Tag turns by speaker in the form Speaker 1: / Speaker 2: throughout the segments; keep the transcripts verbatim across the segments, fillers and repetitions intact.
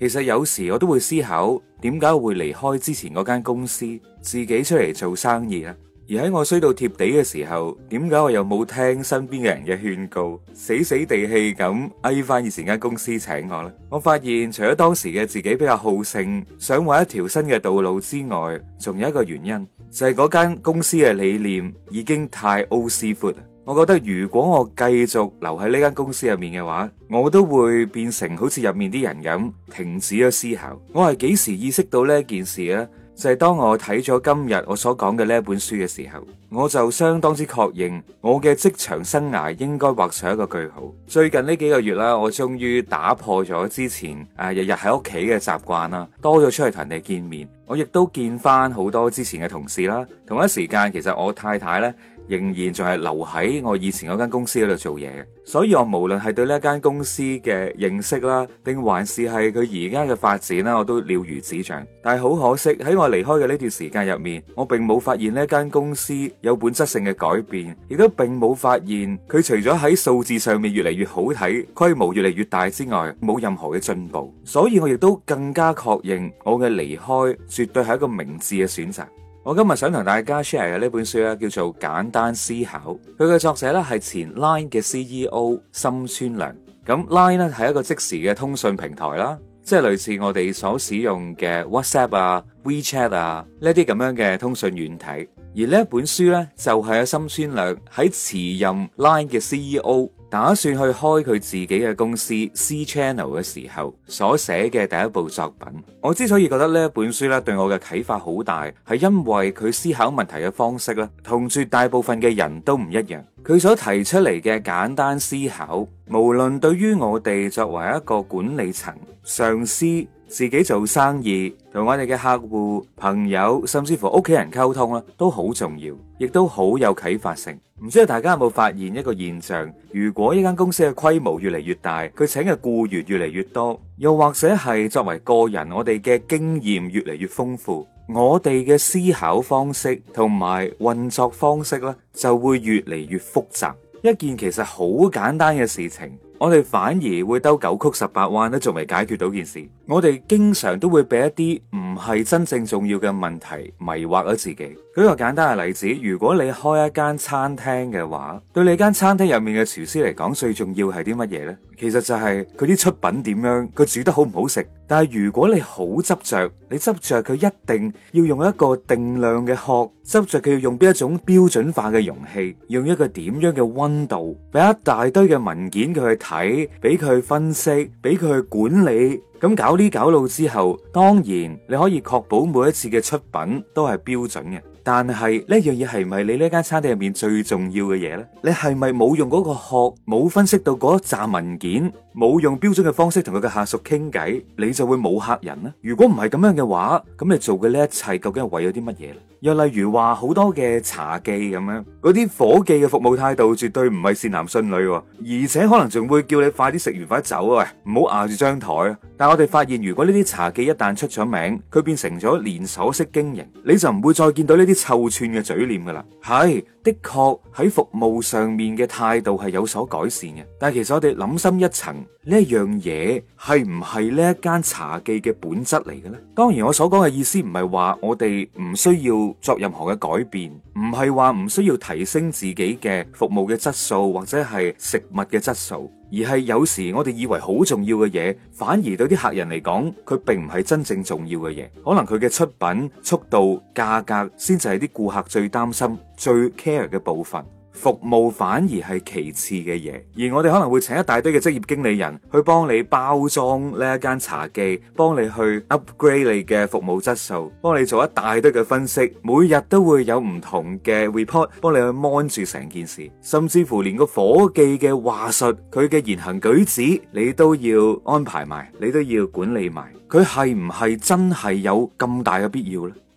Speaker 1: 其實有時我都會思考，點解我會離開之前嗰間公司，自己出嚟做生意呢？而喺我衰到貼地嘅時候，點解我又冇聽身邊嘅人嘅勸告，死死地氣咁嗌翻以前間公司請我呢？我發現除咗當時嘅自己比較好勝，想揾一條新嘅道路之外，仲有一個原因，就係嗰間公司嘅理念已經太 old school。我覺得如果我繼續留喺呢間公司入面嘅話，我都會變成好似入面啲人咁，停止咗思考。我係幾時意識到呢件事呢？就係當我睇咗今日我所講嘅呢一本書嘅時候，我就相當之確認我嘅職場生涯應該畫上一個句號。最近呢幾個月啦，我終於打破咗之前誒日日喺屋企嘅習慣啦，多咗出去同人哋見面。我亦都見翻好多之前嘅同事啦。同一時間，其實我太太呢，仍然仲係留喺我以前嗰間公司嗰度做嘢嘅，所以我無論係對呢間公司嘅認識啦，定還是係佢而家嘅發展啦，我都了如指掌。但係好可惜，喺我離開嘅呢段時間入面，我並冇發現呢間公司有本質性嘅改變，亦都並冇發現佢除咗喺數字上面越嚟越好睇，規模越嚟越大之外，冇任何嘅進步。所以我亦都更加確認我嘅離開絕對係一個明智嘅選擇。我今日想同大家 share 嘅呢本書咧，叫做《簡單思考》，佢嘅作者咧係前 Line 嘅 C E O 森川良。咁 Line 咧係一個即時嘅通訊平台啦，即係類似我哋所使用嘅 WhatsApp 啊、WeChat 啊呢啲咁樣嘅通訊軟體。而呢一本書咧就係阿森川良喺辭任 Line 嘅 C E O，打算去開佢自己嘅公司 C Channel 嘅時候所寫嘅第一部作品。我之所以覺得呢一本書咧對我嘅啟發好大，係因為佢思考問題嘅方式咧同絕大部分嘅人都唔一樣。佢所提出嚟嘅簡單思考，無論對於我哋作為一個管理層、上司、自己做生意、同我哋嘅客戶、朋友，甚至乎屋企人溝通啦，都好重要，亦都好有啟發性。唔知道大家有冇發現一個現象？如果一間公司嘅規模越嚟越大，佢請嘅僱員越嚟越多，又或者係作為個人，我哋嘅經驗越嚟越豐富，我哋嘅思考方式同埋運作方式咧，就會越嚟越複雜。一件其實好簡單嘅事情，我哋反而會兜九曲十八彎都仲未解決到件事。我哋經常都會俾一啲唔係真正重要嘅問題迷惑咗自己。舉個簡單嘅例子，如果你開一間餐廳嘅話，對你間餐廳入面嘅廚師嚟講，最重要係啲乜嘢呢？其實就係佢啲出品點樣，佢煮得好唔好食。但係如果你好執着，你執着佢一定要用一個定量嘅殼，執着佢要用邊一種標準化嘅容器，用一個點樣嘅溫度，俾一大堆嘅文件佢去睇，俾佢去分析，俾佢去管理。咁搞呢搞路之後，當然你可以確保每一次嘅出品都係標準嘅。但係呢樣嘢係咪你呢間餐廳入面最重要嘅嘢呢？你係咪冇用嗰個殼，冇分析到嗰一紮文件，冇用標準嘅方式同佢嘅下屬傾偈，你就會冇客人呢？如果唔係咁樣嘅話，咁你做嘅呢一切究竟係為咗啲乜嘢呢？又例如話好多嘅茶記咁樣，嗰啲伙計嘅服務態度絕對唔係善男信女，而且可能仲會叫你快啲食完快啲走啊，喂，唔好壓住張台啊！但係我哋發現，如果呢啲茶記一旦出咗名，佢變成咗連鎖式經營，你就唔會再見到呢啲臭串嘅嘴臉噶啦。係的確喺服務上面嘅態度係有所改善嘅，但係其實我哋諗深一層，呢一樣嘢係唔係呢一間茶記嘅本質嚟嘅咧？當然我所講嘅意思唔係話我哋唔需要作任何嘅改變，唔係話唔需要提升自己嘅服務嘅質素或者係食物嘅質素，而係有時我哋以為好重要嘅嘢，反而對啲客人嚟講，佢並唔係真正重要嘅嘢。可能佢嘅出品、速度、價格，先至係啲顧客最擔心、最 care 嘅部分。服務反而係其次嘅嘢，而我哋可能會請一大堆嘅職業經理人去幫你包裝呢一間茶記，幫你去 upgrade 你嘅服務質素，幫你做一大堆嘅分析，每日都會有唔同嘅 report 幫你去 mon 住成件事，甚至乎連個伙計嘅話術，佢嘅言行舉止，你都要安排埋，你都要管理埋，佢係唔係真係有咁大嘅必要呢？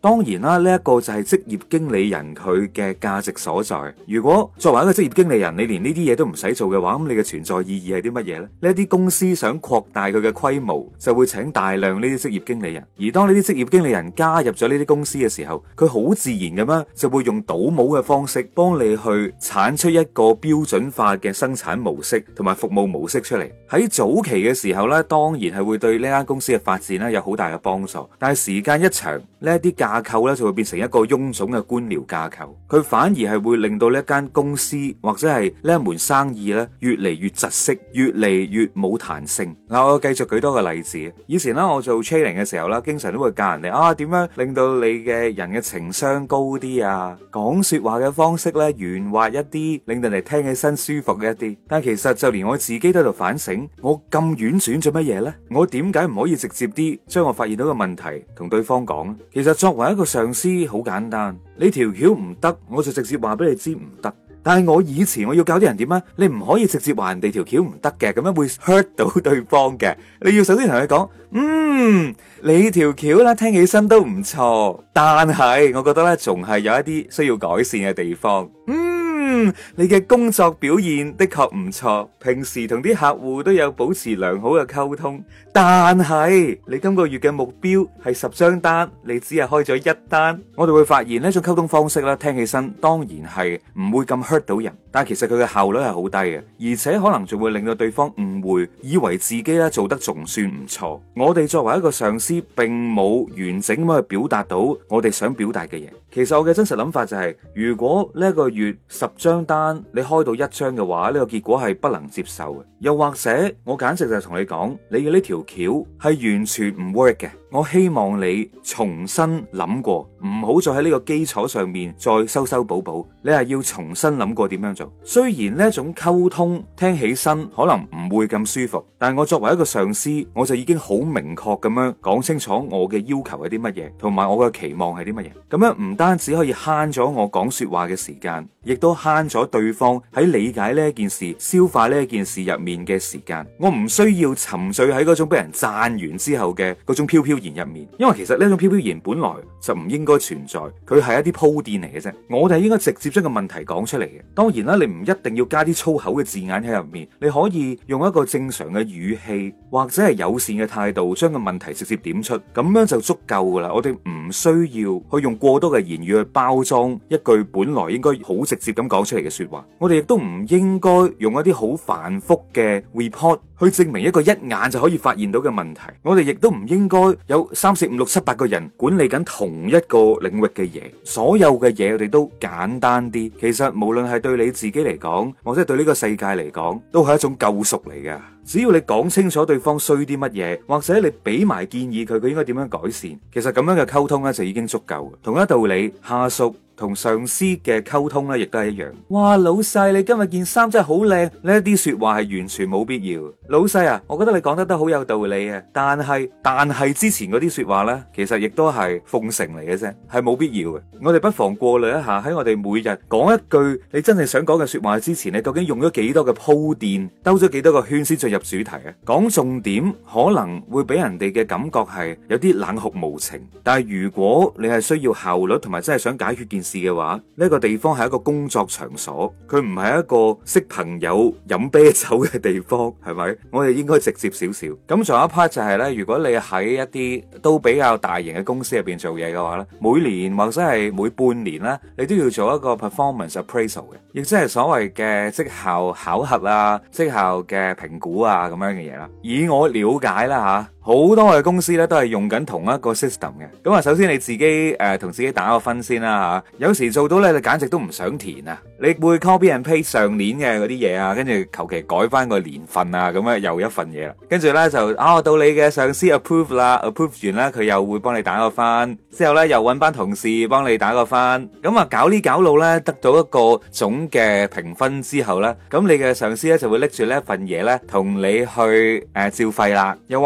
Speaker 1: 當然啦，呢一個就係職業經理人佢嘅價值所在。如果作為一個職業經理人，你連呢啲嘢都唔使做嘅話，咁你嘅存在意義係啲乜嘢呢？呢一啲公司想擴大佢嘅規模，就會請大量呢啲職業經理人。而當呢啲職業經理人加入咗呢啲公司嘅時候，佢好自然咁樣就會用倒模嘅方式幫你去產出一個標準化嘅生產模式同埋服務模式出嚟。喺早期嘅時候呢，當然係會對呢間公司嘅發展咧有好大嘅幫助。但係時間一長，呢一啲架構咧就會變成一個臃腫嘅官僚架構，佢反而係會令到呢一間公司或者係呢一門生意咧越嚟越窒息，越嚟越冇彈性。嗱，我繼續舉多個例子。以前咧我做 training 嘅時候啦，經常都會教人哋啊點樣令到你嘅人嘅情商高啲啊，講說話嘅方式咧圓滑一啲，令到人哋聽起身舒服嘅一啲。但其實就連我自己都喺度反省，我咁婉轉做乜嘢呢？我點解唔可以直接啲將我發現到嘅問題同對方講呢？其實作為一個上司好簡單，你條橋唔得，我就直接話俾你知唔得。但係我以前我要教啲人點啊？你唔可以直接話人哋條橋唔得嘅，咁樣會 hurt 到對方嘅。你要首先同佢講，嗯，你條橋啦，聽起身都唔錯，但係我覺得咧，仲係有一啲需要改善嘅地方。嗯，你嘅工作表現的確唔錯，平時同啲客戶都有保持良好嘅溝通，但係你今個月嘅目標係十張單，你只係開咗一單。我哋會發現呢種溝通方式咧，聽起身當然係唔會咁 hurt 到人，但係其實佢嘅效率係好低嘅，而且可能仲會令到對方誤會，以為自己咧做得仲算唔錯。我哋作為一個上司，並冇完整咁去表達到我哋想表達嘅嘢。其實我嘅真實諗法就係，如果呢一個月十張單你開到一張嘅話，呢個結果係不能接受嘅。又或者我簡直就係同你講，你嘅呢條橋係完全唔 work 嘅。我希望你重新諗過，唔好再喺呢個基礎上面再修修補補。你係要重新諗過點樣做。雖然呢一種溝通聽起身可能唔會咁舒服，但係我作為一個上司，我就已經好明確咁樣講清楚我嘅要求係啲乜嘢，同埋我嘅期望係啲乜嘢。咁樣唔單止可以慳咗我講說話嘅時間，亦都慳咗對方喺理解呢一件事、消化呢一件事入面嘅時間。我唔需要沉醉喺嗰種俾人讚完之後嘅嗰種飄飄然入面，因為其實呢種飄飄然本來就唔應該存在，佢係一啲鋪墊嚟嘅啫。我哋應該直接將個問題講出嚟嘅。當然啦，你唔一定要加啲粗口嘅字眼喺入面，你可以用一個正常嘅語氣或者係友善嘅態度，將個問題直接點出，咁樣就足夠噶啦。我哋唔需要去用過多嘅言語去包裝一句本來應該好直接咁講出嚟嘅說話。我哋亦都唔應該用一啲好繁複嘅 report 去證明一個一眼就可以發現到嘅問題。我哋亦都唔應該有三四五六七八個人管理緊同一個領域嘅嘢，所有嘅嘢我哋都簡單啲。其實無論係對你自己嚟講，或者係對呢個世界嚟講，都係一種救贖嚟嘅。只要你講清楚對方需啲乜嘢，或者你俾埋建議佢，佢應該點樣改善，其實咁樣嘅溝通咧就已經足夠。同一道理，下屬同上司嘅溝通咧，亦都係一樣。哇，老細，你今日件衫真係好靚，呢一啲說話係完全冇必要。老細啊，我覺得你講得都好有道理啊，但係但係之前嗰啲說話呢，其實亦都係奉承嚟嘅啫，係冇必要嘅。我哋不妨過濾一下，喺我哋每日講一句你真係想講嘅說話之前，你究竟用咗幾多嘅鋪墊，兜咗幾多個圈先進入主題啊？講重點可能會俾人哋嘅感覺係有啲冷酷無情，但係如果你係需要效率同埋真係想解決件事嘅話，呢個地方係一個工作場所，佢唔係一個識朋友飲啤酒嘅地方，係咪？我哋應該直接少少。咁仲有一 part 就係呢：如果你喺一啲都比較大型嘅公司入邊做嘢嘅話呢，每年或者係每半年呢，你都要做一個 performance appraisal 嘅，亦即係所謂嘅績效考核啊、績效嘅評估啊咁樣嘅嘢啦。以我了解啦吓，好多嘅公司咧都係用緊同一個 system 嘅。咁啊，首先你自己誒同、呃、自己打個分先啦吓。有時做到咧，你簡直都唔想填啊！你會 copy and paste 上年嘅嗰啲嘢啊，跟住求其改翻個年份啊，咁啊又一份嘢啦。跟住咧就啊到你嘅上司 approve 啦 ，approve 完啦，佢又會幫你打個分，之後咧又揾班同事幫你打個分。咁啊搞呢搞路咧，得到一個總嘅評分之後咧，咁你嘅上司咧就會拎住呢一份嘢咧，同你去誒、呃、照肺啦，又或者係考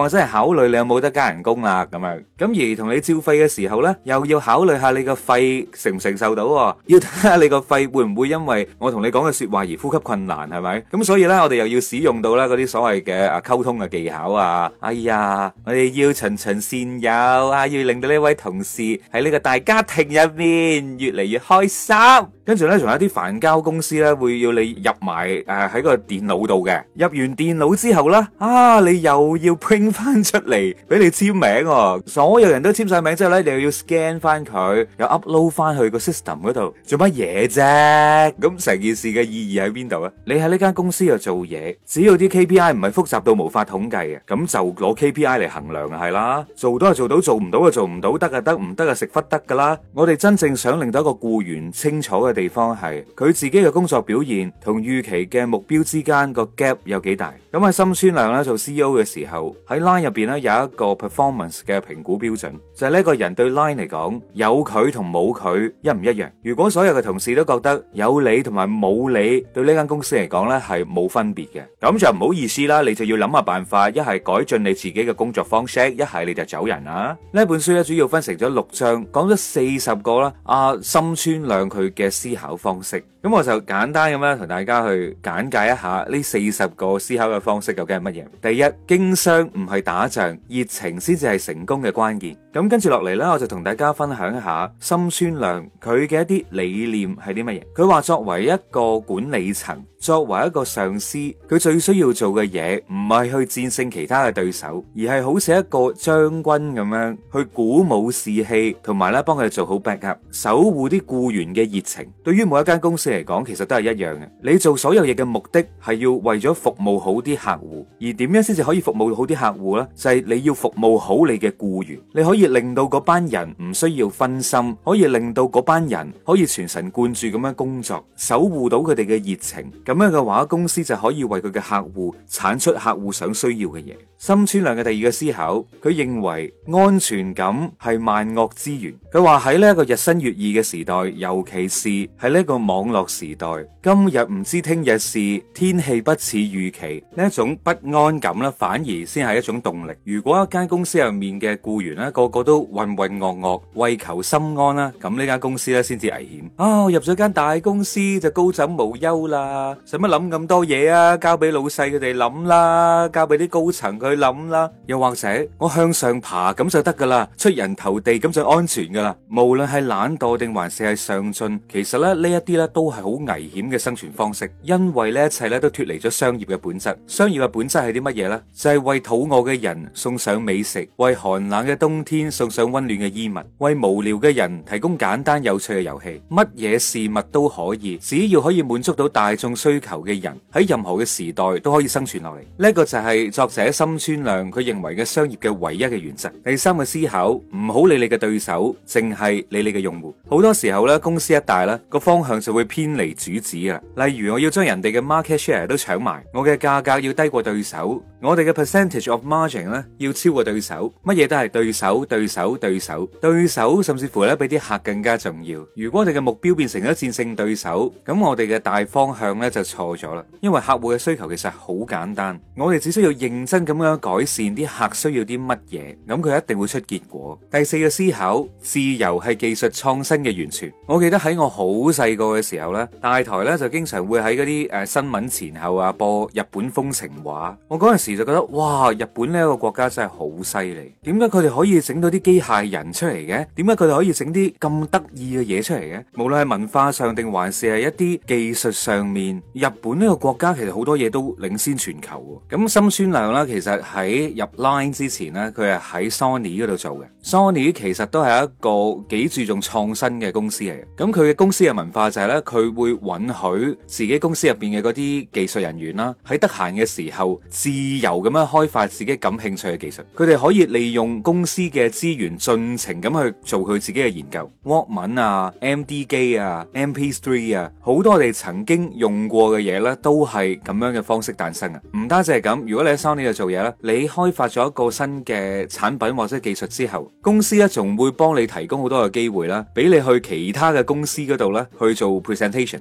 Speaker 1: 考慮你有冇得加人工啦咁樣。咁而同你照肺嘅時候咧，又要考慮下你個肺承唔承受到，要睇下你個肺會唔會因為我同你講嘅說話而呼吸困難，係咪？咁所以咧，我哋又要使用到啦嗰啲所謂嘅啊溝通嘅技巧啊。哎呀，我哋要循循善誘啊，要令到呢位同事喺呢個大家庭入面越嚟越開心。跟住咧，仲有一啲繁交公司咧，會要你入埋誒喺個電腦度嘅。入完電腦之後咧，啊，你又要 print 翻出嚟俾你簽名哦。所有人都簽晒名之後咧，你又要 scan 翻佢，又 upload 翻去個 system 嗰度，做乜嘢啫？咁成件事嘅意義喺邊度啊？你喺呢間公司度做嘢，只要啲 K P I 唔係複雜到無法統計嘅，咁就攞 K P I 嚟衡量係啦。做到就做到，做唔到就做唔到，得就得，唔得就食忽得噶啦。我哋真正想令到一個僱員清楚嘅地方係佢自己嘅工作表現同預期嘅目標之間個 gap 有幾大。咁喺森川亮咧做 C E O 嘅時候，喺 Line 入邊咧有一個 performance 嘅評估標準，就係呢個人對 Line 嚟講有佢同冇佢一唔一樣。如果所有嘅同事都覺得有你同埋冇你對呢間公司嚟講咧係冇分別嘅，咁就唔好意思啦，你就要諗下辦法，一係改進你自己嘅工作方式，一係你就走人啦。呢本書咧主要分成咗六章，講咗四十個啦，阿森川亮佢嘅思考方式。咁我就簡單咁樣同大家去簡介一下呢四十個思考嘅方式究竟係乜嘢。第一，經商唔係打仗，熱情先至係成功嘅關鍵。咁跟住落嚟呢，我就同大家分享一下森川亮佢嘅一啲理念係啲乜嘢。佢話作為一個管理層，作為一個上司，佢最需要做嘅嘢唔係去戰勝其他嘅對手，而係好似一個將軍咁樣去鼓舞士氣，同埋咧幫佢哋做好 backup， 守護啲僱員嘅熱情。對於每一間公司嚟講，其實都係一樣嘅。你做所有嘢嘅目的係要為咗服務好啲客戶，而點樣先至可以服務好啲客戶呢？就係你要服務好你嘅僱員，你可以令到嗰班人唔需要分心，可以令到嗰班人可以全神貫注咁樣工作，守護到佢哋嘅熱情。咁樣嘅話，公司就可以為佢嘅客戶產出客戶想需要嘅嘢。森川亮嘅第二個思考，佢認為安全感係萬惡之源。佢話喺呢一個日新月異嘅時代，尤其是喺呢一個網絡時代，今日唔知聽日事，天氣不似預期，呢一種不安感咧，反而先係一種動力。如果一間公司入面嘅僱員咧，個個都渾渾噩噩，為求心安啦，咁呢間公司咧先至危險。啊、哦，入咗間大公司就高枕無憂啦，使乜諗咁多嘢啊？交俾老細佢哋諗啦，交俾啲高層佢諗啦。又或者我向上爬咁就得噶啦，出人頭地咁就安全噶啦。無論係懶惰定還是係上進，其實咧呢一啲咧都係好危險嘅生存方式，因為呢一切咧都脫離咗商業嘅本質。商業嘅本質係啲乜嘢呢？就係、是、為肚餓嘅人送上美食，為寒冷嘅冬天送上溫暖嘅衣物，為無聊嘅人提供簡單有趣嘅遊戲。乜嘢事物都可以，只要可以滿足到大眾需求嘅人，喺任何嘅時代都可以生存落嚟。呢一個就係作者森川亮佢認為嘅商業嘅唯一嘅原則。第三個思考，唔好理你嘅對手，淨係理你嘅用戶。好多時候咧，公司一大咧，個方向就會偏離主旨啊。例如我要將人哋嘅 market share 都搶埋，我嘅價格要低過對手，我哋嘅 percentage of margin 咧要超過對手，乜嘢都係對手、對手、對手、對手，甚至乎咧比啲客更加重要。如果我哋嘅目標變成咗戰勝對手，咁我哋嘅大方向咧就錯咗啦。因為客戶嘅需求其實好簡單，我哋只需要認真咁樣改善啲客需要啲乜嘢，咁佢一定會出結果。第四個思考，自由係技術創新嘅源泉。我記得喺我好細個嘅時候咧，大台咧就經常會喺嗰啲誒新聞前後啊播日本風情畫。我嗰陣時就覺得哇，日本呢一個國家真係好犀利，點解佢哋可以整到啲機械人出嚟嘅？點解佢哋可以整啲咁得意嘅嘢出嚟嘅？無論係文化上定還是係一啲技術上面，日本呢個國家其實好多嘢都領先全球。咁森川亮啦，其實喺入 Line 之前咧，佢係喺 Sony 嗰度做嘅。Sony 其實都係一個幾注重創新嘅公司嚟嘅。咁佢嘅公司嘅文化就係咧，佢會允許自己公司入邊嘅嗰啲技術人員啦，喺得閒嘅時候自由咁樣開發自己感興趣嘅技術。佢哋可以利用公司嘅資源盡情咁去做佢自己嘅研究。Walkman 啊、M D 機啊、M P 三 啊，好多我哋曾經用過嘅嘢咧，都係咁樣嘅方式誕生啊！唔單止係咁，如果你喺 Sony 度做嘢咧，你開發咗一個新嘅產品或者技術之後，公司咧仲會幫你提供好多嘅機會啦，俾你去其他嘅公司嗰度咧去做 presentation。如果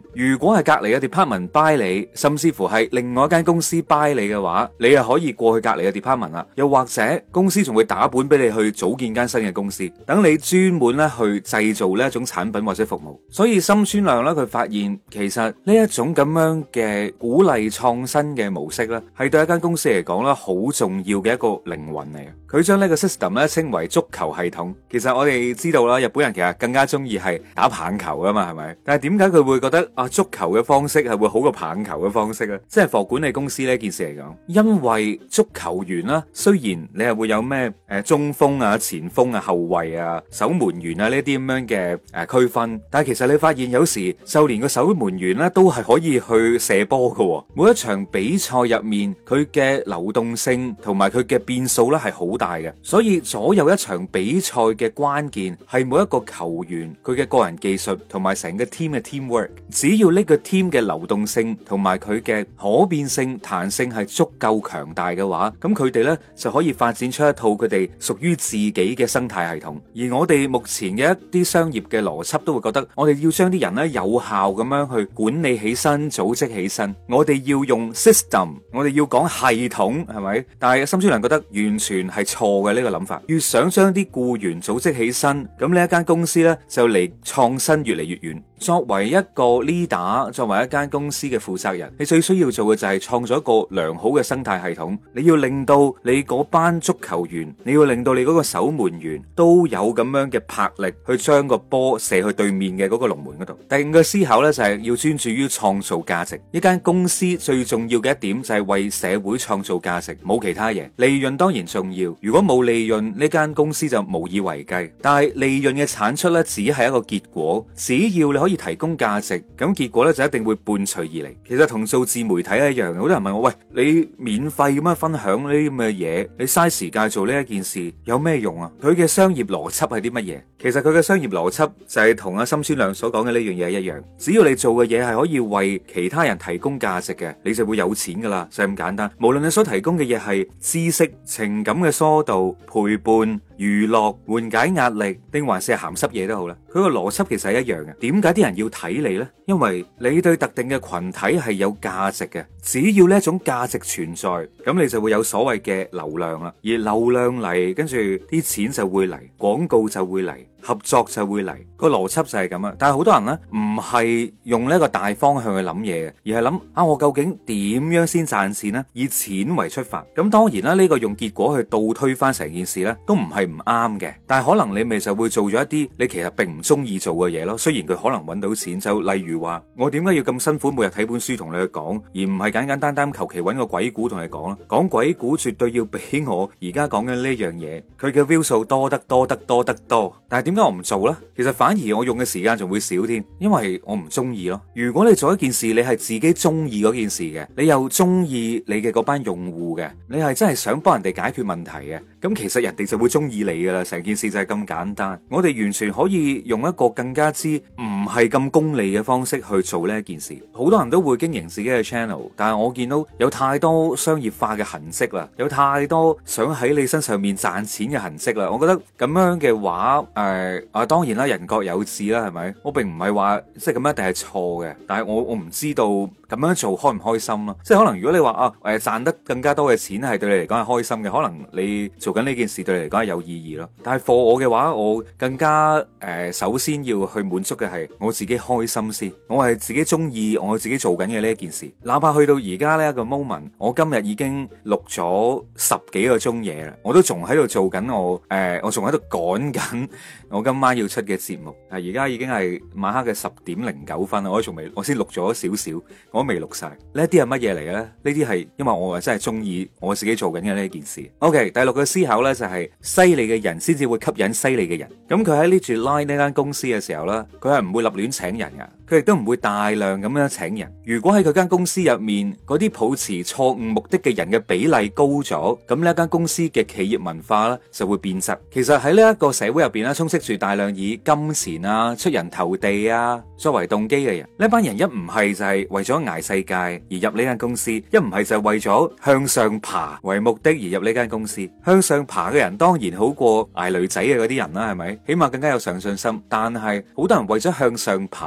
Speaker 1: 果係隔籬嘅 department buy 你，甚至乎係另外一間公司 buy 你嘅話，你又可以過去隔籬嘅 department 啦。又或者公司仲會打本俾你去組建間新嘅公司，等你專門咧去製造呢一種產品或者服務。所以森川亮咧，佢發現其實呢一種咁樣嘅鼓勵創新嘅模式咧，係對一間公司嚟講咧好重要嘅一個靈魂嚟嘅。佢將呢個 system 咧稱為足球系統。其實我哋知道啦，日本人其實更加中意係打棒球噶嘛，係咪？但係點解佢會覺得啊足球嘅方式係會好過棒球嘅方式咧？即係貨管理公司呢件事嚟講，因為足球員啦，雖然你係會有咩誒中鋒啊、前鋒啊、後衛啊、守門員啊呢啲咁樣嘅誒區分，但係其實你發現有時就連個守門員咧都係可以去射波噶。每一場比賽入面，佢嘅流動性同埋佢嘅變數咧係好大嘅，所以左右一場比賽嘅關鍵係每一個球員佢嘅個人技術同埋成個 team 嘅 teamwork。只要呢個 team 嘅流動性同埋佢嘅可變性、彈性係足夠強大嘅話，咁佢哋呢就可以發展出一套佢哋屬於自己嘅生態系統。而我哋目前嘅一啲商業嘅邏輯都會覺得，我哋要將啲人呢有效咁樣去管理起身、組織起身，我哋要用 system， 我哋要講系統，係咪？但係森川良覺得完全係錯嘅呢個諗法。越想將啲僱員組織起身，咁呢一間公司呢就離創新越嚟越遠。作為一個 leader， 作為一間公司嘅負責人，你最需要做嘅就係創造一個良好嘅生態系統。你要令到你嗰班足球員，你要令到你嗰個守門員都有咁樣嘅魄力去將個波射去對面嘅嗰個龍門嗰度。第五個思考呢，就係要專注於創造價值。一間公司最重要嘅一點就係為社會創造價值，冇其他嘢。利潤當然重要，如果冇利潤，呢間公司就無以為繼。但係利潤嘅產出呢，只係一個結果。只要你可以提供價值，咁結果呢就一定會伴隨而嚟。其實同做自媒體一樣，好多人問我，喂，你免費咁樣分享呢啲咁嘅嘢，你嘥時間做呢一件事有咩用啊？佢嘅商業邏輯係啲乜嘢？其實佢嘅商業邏輯就係同阿森川亮所講嘅呢樣嘢一樣。只要你做嘅嘢係可以為其他人提供價值嘅，你就會有錢噶啦，就係咁簡單。無論你所提供嘅嘢係知識、情感嘅疏導、陪伴、娛樂、緩解壓力，定還是係鹹濕嘢都好啦，佢個邏輯其實係一樣嘅。點解啲人要睇你呢？因為你對特定嘅群體係有價值嘅，只要呢一種價值存在，咁你就會有所謂嘅流量啦。而流量嚟，跟住啲錢就會嚟，廣告就會嚟，合作就會嚟，個邏輯就係咁啊！但係好多人呢，唔係用呢一個大方向去諗嘢嘅，而係諗啊，我究竟點樣先賺錢呢？以錢為出發。咁當然啦，呢個用結果去倒推翻成件事呢，都唔係唔啱嘅。但係可能你咪就會做咗一啲你其實並唔中意做嘅嘢咯。雖然佢可能揾到錢，就例如話我點解要咁辛苦每日睇本書同你去講，而唔係簡簡單單求其揾個鬼故同你講啦。講鬼故絕對要比我而家講緊呢樣嘢，佢嘅 view 數多得多得多得多。但係點解我唔做呢？其實反而我用嘅時間仲會少添，因為我唔中意咯。如果你做一件事，你係自己中意嗰件事嘅，你又中意你嘅嗰班用戶嘅，你係真係想幫人哋解決問題嘅，咁其實人哋就會中意你噶啦。成件事就係咁簡單。我哋完全可以用一個更加之唔係咁功利嘅方式去做呢一件事。好多人都會經營自己嘅 channel， 但係我見到有太多商業化嘅痕跡啦，有太多想喺你身上面賺錢嘅痕跡啦。我覺得咁樣嘅話，誒、呃、啊，當然啦，人各有志啦，係咪？我並唔係話即係咁一定係錯嘅，但係我我唔知道咁樣做開唔開心咯。即係可能如果你話啊誒賺得更加多嘅錢係對你嚟講係開心嘅，可能你做緊呢件事對你嚟講係有意義咯。但係 for 我嘅話，我更加誒、呃、首先要去滿足嘅係我自己開心先。我係自己中意我自己做緊嘅呢一件事，哪怕去到而家呢一個 moment， 我今日已經錄咗十幾個鐘嘢啦，我都仲喺度做緊我誒、呃，我仲喺度趕緊我今晚要出嘅節目。啊，而家已經係晚黑嘅十點零九分啦，我仲未，我先錄咗少少，我都未錄晒。呢一啲係乜嘢嚟嘅咧？呢啲係因為我係真係中意我自己做緊嘅呢件事。OK， 第六個思考呢就係犀利嘅人先至會吸引犀利嘅人。咁佢喺呢住 Line 呢間公司嘅時候呢，佢係唔會立亂請人噶。佢亦都唔會大量咁樣請人。如果喺佢間公司入面嗰啲抱持錯誤目的嘅人嘅比例高咗，咁呢一間公司嘅企業文化咧就會變質。其實喺呢一個社會入邊咧，充斥住大量以金錢啊、出人頭地啊作為動機嘅人。呢班人一唔係就係為咗捱世界而入呢間公司，一唔係就係為咗向上爬為目的而入呢間公司。向上爬嘅人當然好過捱女仔嘅嗰啲人啦，係咪？起碼更加有上進心。但係好多人為咗向上爬，佢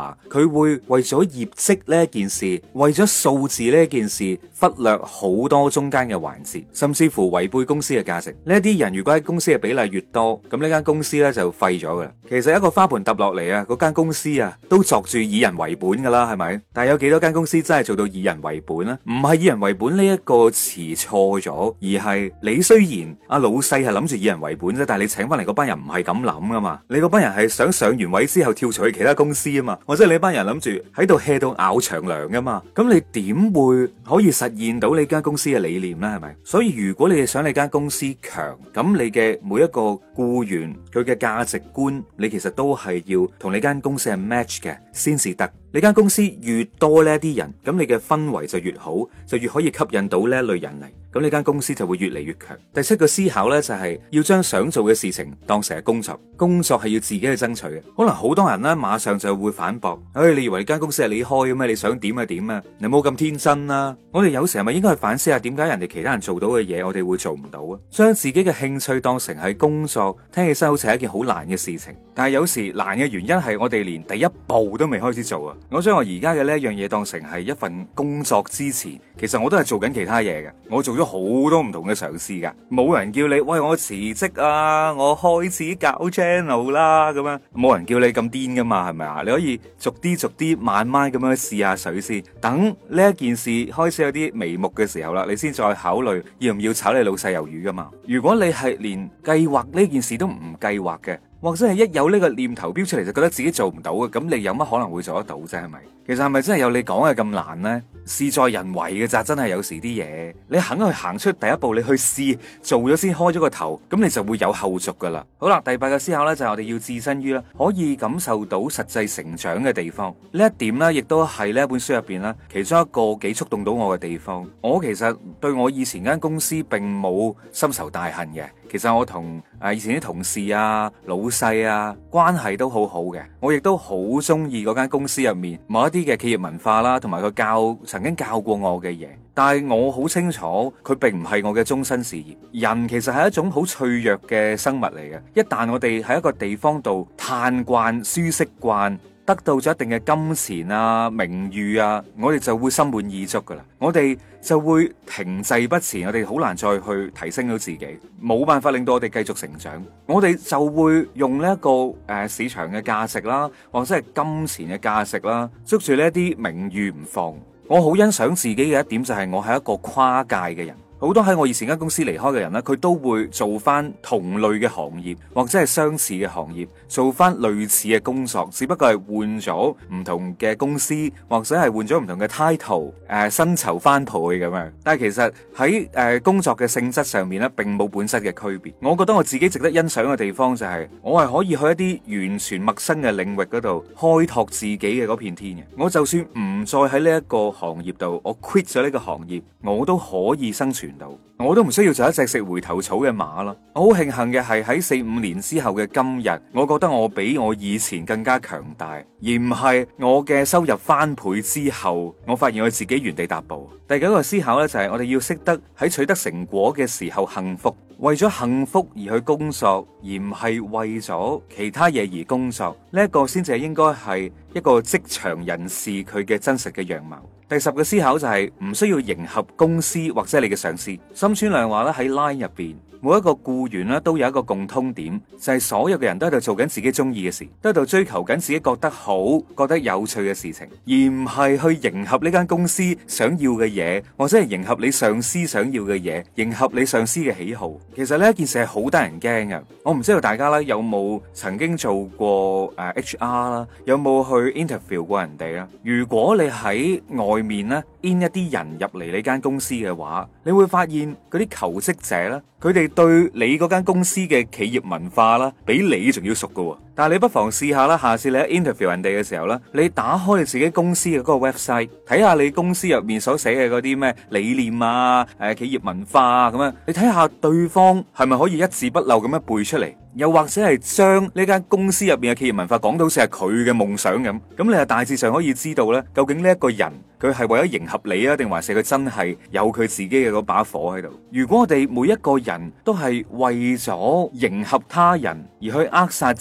Speaker 1: 會為咗業績呢件事，為咗數字呢件事，忽略好多中間嘅環節，甚至乎違背公司嘅價值。呢啲人如果喺公司嘅比例越多，咁呢間公司咧就廢咗噶啦。其實一個花盆揼落嚟啊，嗰間公司啊都作住以人為本噶啦，係咪？但係有幾多間公司真係做到以人為本咧？唔係以人為本呢一個詞錯咗，而係你雖然阿老細係諗住以人為本啫，但係你請翻嚟嗰班人唔係咁諗噶嘛。你嗰班人係想上完位之後跳槽去其他公司啊嘛，或者你班人諗住喺度 hea 到咬長糧噶嘛。咁你點會可以實現到你間公司嘅理念咧？係咪？所以如果你係想你間公司強，咁你嘅每一個僱員佢嘅價值觀，你其實都係要同你間公司係 match 嘅先至得。你間公司越多呢啲人，咁你嘅氛圍就越好，就越可以吸引到呢一類人嚟，咁你間公司就會越嚟越強。第七個思考呢，就係要將想做嘅事情當成係工作，工作係要自己去爭取嘅。可能好多人呢，馬上就會反駁，唉，你以為你間公司係你開嘅咩？你想點就點啊？你冇咁天真啦！我哋有時係咪應該去反思下，點解人哋其他人做到嘅嘢，我哋會做唔到啊？將自己嘅興趣當成係工作，聽起身好似係一件好難嘅事情，但係有時難嘅原因係我哋連第一步都未開始做啊！我將我而家嘅呢一樣嘢當成係一份工作之前，其實我都係做緊其他嘢嘅。我做咗好多唔同嘅嘗試噶，冇人叫你喂，我辭職啊，我開始搞 channel 啦咁樣，冇人叫你咁癲噶嘛，係咪啊？你可以逐啲逐啲慢慢咁樣試下水先，等呢一件事開始有啲眉目嘅時候啦，你先再考慮要唔要炒你老細魷魚噶嘛。如果你係連計劃呢件事都唔計劃嘅，或者係一有呢個念頭標出嚟就覺得自己做唔到嘅，咁你有乜可能會做得到啫？係咪？其實係咪真係有你講嘅咁難呢？事在人為嘅咋，真係有時啲嘢你肯去行出第一步，你去試做咗先，開咗個頭，咁你就會有後續噶啦。好啦，第八個思考呢，就係我哋要置身於啦可以感受到實際成長嘅地方。呢一點呢，亦都係呢一本書入邊呢其中一個幾觸動到我嘅地方。我其實對我以前間公司並冇深仇大恨嘅。其實我同誒以前啲同事啊、老細啊關係都好好嘅，我亦都好中意嗰間公司入面某一啲嘅企業文化啦，同埋佢教曾經教過我嘅嘢。但係我好清楚，佢並唔係我嘅終身事業。人其實係一種好脆弱嘅生物嚟嘅，一旦我哋喺一個地方度嘆慣、舒適慣，得到咗一定嘅金錢啊、名譽啊，我哋就會心滿意足噶啦，我哋就會停滯不前，我哋好難再去提升到自己，冇辦法令到我哋繼續成長，我哋就會用呢一個誒、呃、市場嘅價值啦，或者係金錢嘅價值啦，捉住呢一啲名譽唔放。我好欣賞自己嘅一點就係我係一個跨界嘅人。好多喺我以前間公司離開嘅人呢，佢都會做翻同類嘅行業或者係相似嘅行業，做翻類似嘅工作，只不過係換咗唔同嘅公司或者係換咗唔同嘅 title，誒薪酬翻倍咁樣。但係其實喺誒、呃、工作嘅性質上面呢，並冇本質嘅區別。我覺得我自己值得欣賞嘅地方就係、是、我係可以去一啲完全陌生嘅領域嗰度開拓自己嘅嗰片天嘅。我就算唔再喺呢一個行業度，我 quit 咗呢個行業，我都可以生存。我都唔需要做一隻食回頭草嘅馬啦。我好慶幸嘅係喺四五年之後嘅今日，我覺得我比我以前更加強大，而唔係我嘅收入翻倍之後，我發現我自己原地踏步。第九個思考呢，就係我哋要識得喺取得成果嘅時候幸福，為咗幸福而去工作，而唔係為咗其他嘢而工作。呢一個先至係應該係一個職場人士佢嘅真實嘅樣貌。第十個思考就係唔需要迎合公司或者你嘅上司。森川良話咧，喺 Line 入邊，每一個僱員咧都有一個共通點，就係所有嘅人都喺度做緊自己中意嘅事，都喺度追求緊自己覺得好、覺得有趣嘅事情，而唔係去迎合呢間公司想要嘅嘢，或者係迎合你上司想要嘅嘢，迎合你上司嘅喜好。其實呢一件事係好得人驚嘅。我唔知道大家咧有冇曾經做過誒 H R 啦，有冇去 interview 過人哋啦？如果你喺外面咧 in 一啲人入嚟呢間公司嘅話，你會發現嗰啲求職者咧，佢哋對你嗰間公司嘅企業文化啦，比你仲要熟噶。但係你不妨試下啦，下次你喺 interview 人哋嘅時候咧，你打開你自己公司嘅嗰個 website，睇下你公司入面所寫嘅嗰啲咩理念啊、誒企業文化啊咁樣，你睇下對方係咪可以一字不漏咁樣背出嚟，又或者係將呢間公司入面嘅企業文化講到好似係佢嘅夢想咁，咁你係大致上可以知道咧，究竟呢一個人佢係為咗迎合你啊，定還是佢真係有佢自己嘅嗰把火喺度？如果我哋每一個人都係為咗迎合他人而去扼殺自己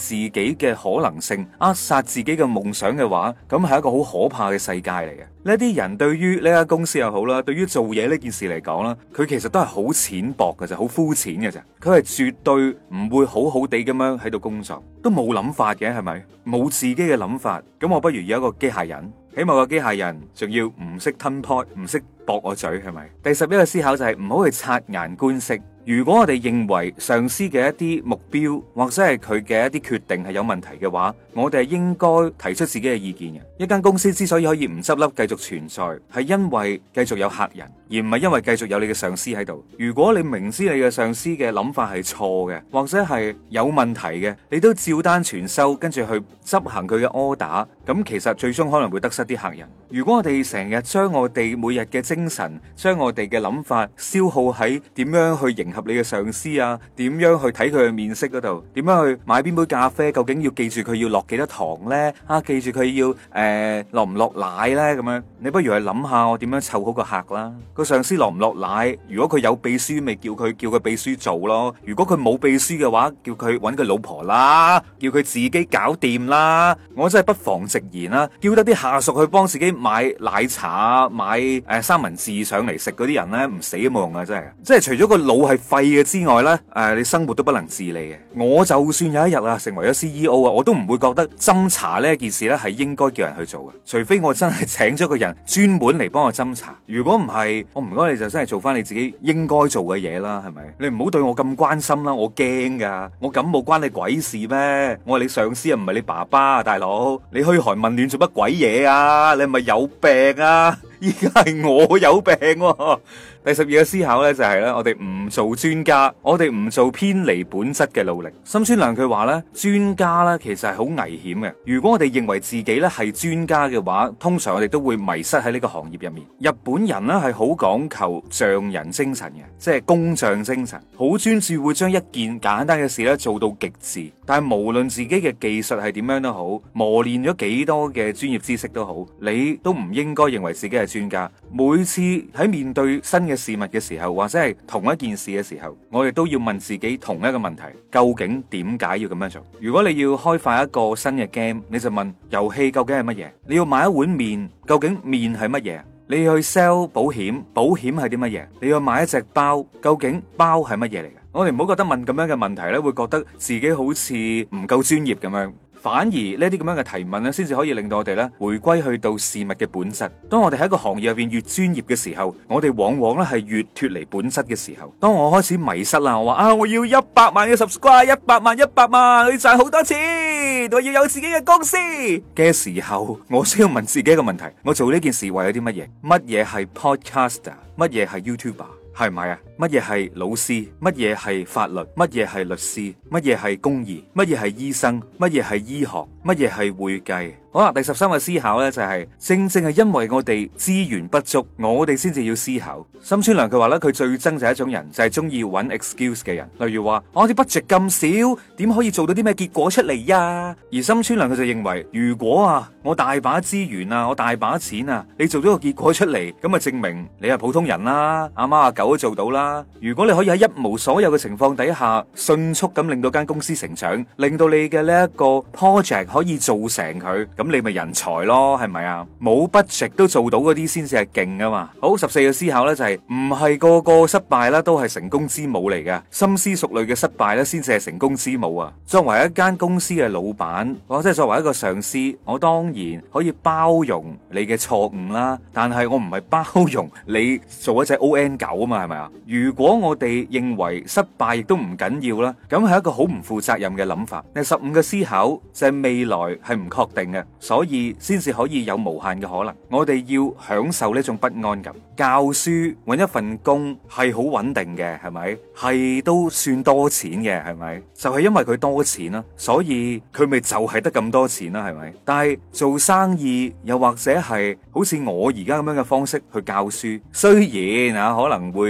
Speaker 1: 己嘅可能性，扼殺自己嘅夢想嘅話，咁係一個好可怕嘅世界嚟嘅。呢啲人對於呢間公司又好啦，對於做嘢呢件事嚟講啦，佢其實都係好淺薄嘅啫，好膚淺嘅啫。佢係絕對唔會好好地咁樣喺度工作，都冇諗法嘅，係咪？冇自己嘅諗法，咁我不如有一個機械人，起碼個機械人仲要唔識吞泡，唔識駁我嘴，係咪？第十一個思考就係唔好去察言觀色。如果我哋認為上司嘅一啲目標或者係佢嘅一啲決定係有問題嘅話，我哋係應該提出自己嘅意見嘅。一間公司之所以可以唔執笠繼續存在，係因為繼續有客人，而唔係因為繼續有你嘅上司喺度。如果你明知你嘅上司嘅諗法係錯嘅，或者係有問題嘅，你都照單全收，跟住去執行佢嘅 order，咁其實最終可能會得失啲客人。如果我哋成日將我哋每日嘅精神，將我哋嘅諗法消耗喺點樣去迎合你嘅上司啊，點樣去睇佢嘅面色嗰度，點樣去買邊杯咖啡，究竟要記住佢要落幾多糖呢？啊，記住佢要誒、呃、落唔落奶呢？咁樣你不如去諗下我點樣湊好個客啦。個上司落唔落奶？如果佢有秘書，咪叫佢叫佢秘書做咯。如果佢冇秘書嘅話，叫佢揾佢老婆啦，叫佢自己搞掂啦。我真係不妨直言啦，叫得啲下屬去幫自己買奶茶、買誒、呃、三文治上嚟食嗰啲人呢，唔死都冇用啊！真係，即係除咗個腦係廢嘅之外呢，誒、呃，你生活都不能自理嘅。我就算有一日啊成為咗 C E O 啊，我都唔會覺得斟茶呢件事呢係應該叫人去做嘅，除非我真係請咗個人專門嚟幫我斟茶。如果唔係，我唔該你就真係做翻你自己應該做嘅嘢啦，係咪？你唔好對我咁關心啦，我驚噶，我感冒關你鬼事咩？我係你上司啊，唔係你爸爸啊，大佬，你噓寒問暖做乜鬼嘢啊？你係咪有病啊？依家係我有病喎。第十二個思考呢，就係呢：我哋唔做專家，我哋唔做偏離本質嘅努力。森川良佢話呢，專家呢其實係好危險嘅。如果我哋認為自己呢係專家嘅話，通常我哋都會迷失喺呢個行業入面。日本人呢係好講求匠人精神嘅，即係工匠精神，好專注會將一件簡單嘅事呢做到極致。但係無論自己嘅技術係點樣都好，磨練咗幾多嘅專業知識都好，你都唔應該認為自己係專家。每次喺面對新嘅事物嘅時候，或者係同一件事嘅時候，我哋都要問自己同一個問題：究竟點解要咁樣做？如果你要開發一個新嘅 game，你就問遊戲究竟係乜嘢？你要買一碗麵，究竟麵係乜嘢？你要去 sell 保險，保險係啲乜嘢？你要買一隻包，究竟包係乜嘢嚟嘅？我哋唔好覺得問咁樣嘅問題咧，會覺得自己好似唔夠專業咁樣。反而呢啲咁樣嘅提問咧，先至可以令到我哋咧回歸去到事物嘅本質。當我哋喺個行業入邊越專業嘅時候，我哋往往咧係越脫離本質嘅時候。當我開始迷失啦，我話啊，我要一百萬嘅 subscribe， 一百萬一百萬，我要賺好多錢，我要有自己嘅公司嘅時候，我需要問自己一個問題：我做呢件事為咗啲乜嘢？乜嘢係 podcaster？乜嘢係 YouTuber？係唔係啊？乜嘢係老師？乜嘢係法律？乜嘢係律師？乜嘢係公義？乜嘢係醫生？乜嘢係醫學？乜嘢係會計？好啦，第十三個思考呢，就係、是、正正係因為我哋資源不足，我哋先至要思考。森川良佢話咧，佢最憎就係一種人，就係中意揾 excuse 嘅人。例如話我啲 budget 咁少，點可以做到啲咩結果出嚟呀？而森川良佢就認為，如果啊我大把資源啊，我大把錢啊，你做咗個結果出嚟，咁啊證明你係普通人啦，阿媽阿狗都做到啦。如果你可以喺一無所有嘅情況底下，迅速咁令到間公司成長，令到你嘅呢一個 project 可以做成佢。咁你咪人才咯，係咪啊？冇 budget 都做到嗰啲先至係勁噶嘛。好，十四個思考呢，就係唔係個個失敗啦都係成功之母嚟嘅，深思熟慮嘅失敗呢，先至係成功之母啊。作為一間公司嘅老闆，或者係作為一個上司，我當然可以包容你嘅錯誤啦，但係我唔係包容你做一隻 O N 九啊嘛，係咪啊？如果我哋認為失敗亦都唔緊要啦，咁係一個好唔負責任嘅諗法。第十五個思考就係未來係唔確定嘅。所以先至可以有無限嘅可能，我哋要享受呢種不安感。教書搵一份工係好穩定嘅，係咪？係都算多錢嘅，係咪？就係因為佢多錢啦，所以佢咪就係得咁多錢啦，係咪？但係做生意又或者係好似我而家咁樣嘅方式去教書，雖然啊可能會紮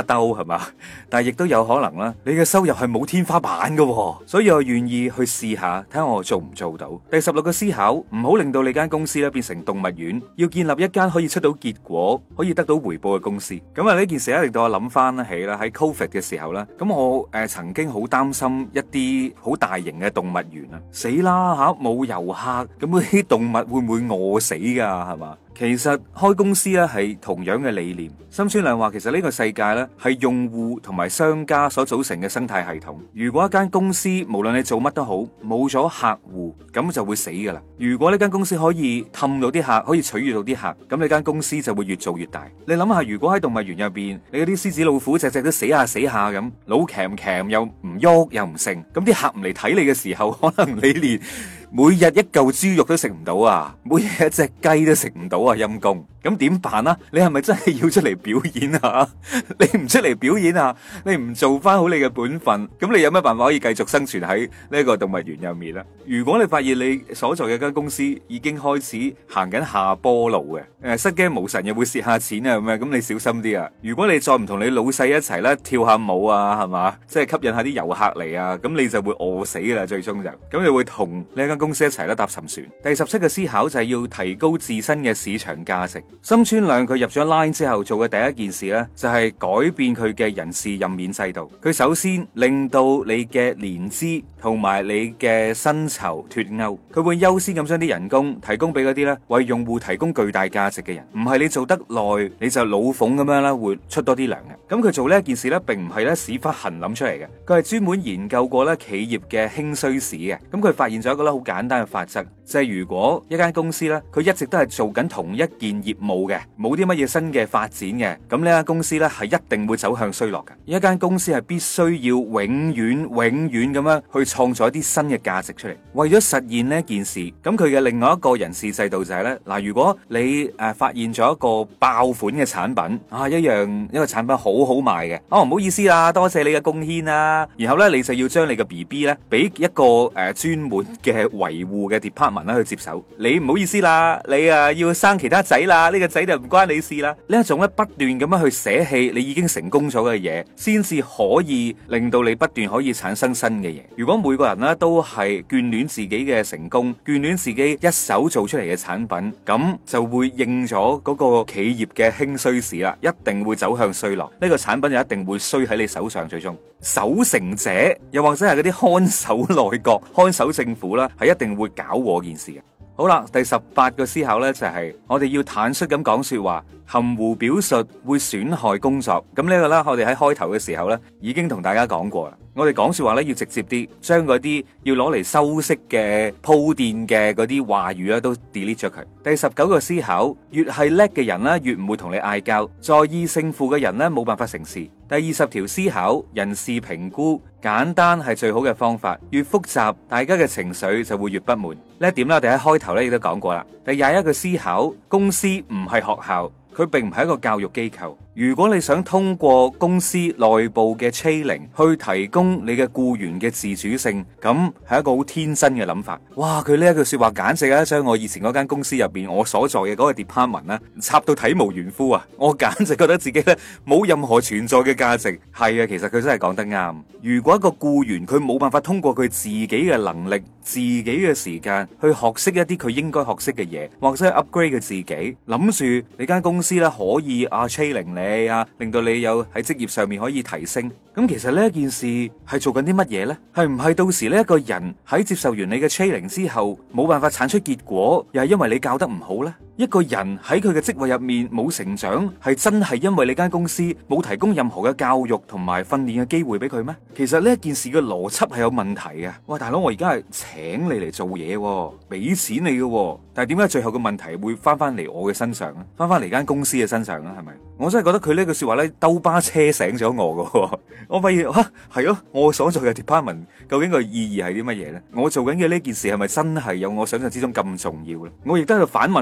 Speaker 1: 兜係嘛，但係亦都有可能啦，你嘅收入係冇天花板噶，所以我願意去試下，睇下我做唔做到。第十六個思考，唔好令到你間公司咧變成動物園，要建立一間可以出到結果、可以得到回報嘅公司。咁啊呢件事咧令到我諗翻起啦，喺 Covid 嘅時候啦，咁我誒、呃、曾經好擔心一啲好大型嘅動物園啊，死啦吓，冇遊客，咁啲動物會唔會餓死噶係嘛？其實開公司咧係同樣嘅理念。森川亮話，其實呢個世界咧係用戶同埋商家所組成嘅生態系統。如果一間公司無論你做乜都好，冇咗客戶，咁就會死噶啦。如果呢間公司可以氹到啲客，可以取悅到啲客，咁你間公司就會越做越大。你諗下，如果喺動物園入邊，你嗰啲獅子老虎隻隻都死下死下咁，老鉗鉗又唔喐又唔成，咁啲客唔嚟睇你嘅時候，可能你連每日一嚿豬肉都食唔到啊，每日一隻雞都食唔到啊，陰公。咁點辦啊？你係咪真係要出嚟表演啊？你唔出嚟表演啊？你唔做翻好你嘅本分，咁你有咩辦法可以繼續生存喺呢個動物園入面咧？如果你發現你所在嘅間公司已經開始行緊下坡路嘅，誒失驚無神又會蝕下錢啊咁樣，咁你小心啲啊！如果你再唔同你老細一齊咧跳下舞啊，係嘛，即係吸引下啲遊客嚟啊，咁你就會餓死啦，最終就咁你會同呢間公司一齊咧搭沉船。第十七個思考就係要提高自身嘅市場價值。森川亮佢入咗 Line 之後做嘅第一件事呢，就係改變佢嘅人事任免制度。佢首先令到你嘅年資同埋你嘅薪酬脫鈎，佢會優先咁將啲人工提供俾嗰啲呢為用戶提供巨大價值嘅人，唔係你做得耐你就老馮咁樣啦，會出多啲糧嘅。咁佢做呢一件事呢，並唔係咧屎忽痕諗出嚟嘅，佢係專門研究過咧企業嘅興衰史嘅。咁佢發現咗一個咧好簡單嘅法則，就係如果一間公司呢，佢一直都係做緊同一件業務嘅，冇啲乜嘢新嘅發展嘅，咁呢間公司呢係一定會走向衰落嘅。一間公司係必須要永遠永遠咁樣去創造一啲新嘅價值出嚟。為咗實現呢件事，咁佢嘅另外一個人事制度就係呢：嗱，如果你誒、呃、發現咗一個爆款嘅產品啊，一樣一個產品好好賣嘅，哦唔好意思啦，多謝你嘅貢獻啦，然後呢，你就要將你嘅 B B 呢俾一個誒專門嘅維護嘅 department 啦去接手。你唔好意思啦，你啊要生其他仔啦，呢個仔就唔關你事啦。呢一種咧不斷咁樣去捨棄你已經成功咗嘅嘢，先至可以令到你不斷可以產生新嘅嘢。如果每個人咧都係眷戀自己嘅成功，眷戀自己一手做出嚟嘅產品，咁就會應咗嗰個企業嘅興衰史啦，一定會走向衰落。呢個產品就一定會衰喺你手上，最終守成者又或者係嗰啲看守內閣、看守政府啦，係一定會搞禍件事嘅。好啦，第十八個思考呢，就係我哋要坦率咁講說話，含糊表述會損害工作。咁呢個呢，我哋喺開頭嘅時候呢，已經同大家講過啦。我哋講說話呢，要直接啲，將嗰啲要攞嚟修飾嘅鋪墊嘅嗰啲話語呢，都 delete 咗佢。第十九個思考，越係叻嘅人呢，越唔會同你嗌交，在意勝負嘅人呢，冇辦法成事。第二十條思考，人事評估簡單係最好嘅方法，越複雜大家嘅情緒就會越不滿。呢一點咧，我哋喺開頭咧亦都講過啦。第廿一個思考，公司唔係學校，佢並唔係一個教育機構。如果你想通過公司內部嘅 training 去提供你嘅僱員嘅自主性，咁係一個好天真嘅諗法。哇！佢呢一句說話簡直係將我以前嗰間公司入邊我所在嘅嗰個 department 咧插到體無完膚啊！我簡直覺得自己咧冇任何存在嘅價值。係啊，其實佢真係講得啱。如果一個僱員佢冇辦法通過佢自己嘅能力、自己嘅時間去學識一啲佢應該學識嘅嘢，或者係 upgrade 佢自己，諗住你間公司咧可以啊 training 你。啊，令到你有喺職業上面可以提升。咁其實呢一件事係做緊啲乜嘢呢？係唔係到時呢一個人喺接受完你嘅 training 之後，冇辦法產出結果，又係因為你教得唔好呢？一個人喺佢嘅職位入面冇成長，係真係因為你間公司冇提供任何嘅教育同埋訓練嘅機會俾佢咩？其實呢一件事嘅邏輯係有問題嘅。喂，大佬，我而家係請你嚟做嘢，俾錢你嘅，但係點解最後嘅問題會翻翻嚟我嘅身上咧？翻翻嚟間公司嘅身上咧？係咪？我真係覺得佢呢句說話咧，兜巴車醒咗我嘅。我發現吓係咯，我所做嘅 department 究竟個意義係啲乜嘢咧？我做緊嘅呢件事係咪真係有我想象之中咁重要咧？我亦都喺度反問我自己。